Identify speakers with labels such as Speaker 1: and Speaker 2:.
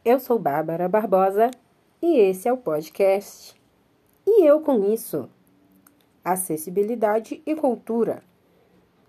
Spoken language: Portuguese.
Speaker 1: Eu sou Bárbara Barbosa e esse é o podcast. E eu com isso, acessibilidade e cultura.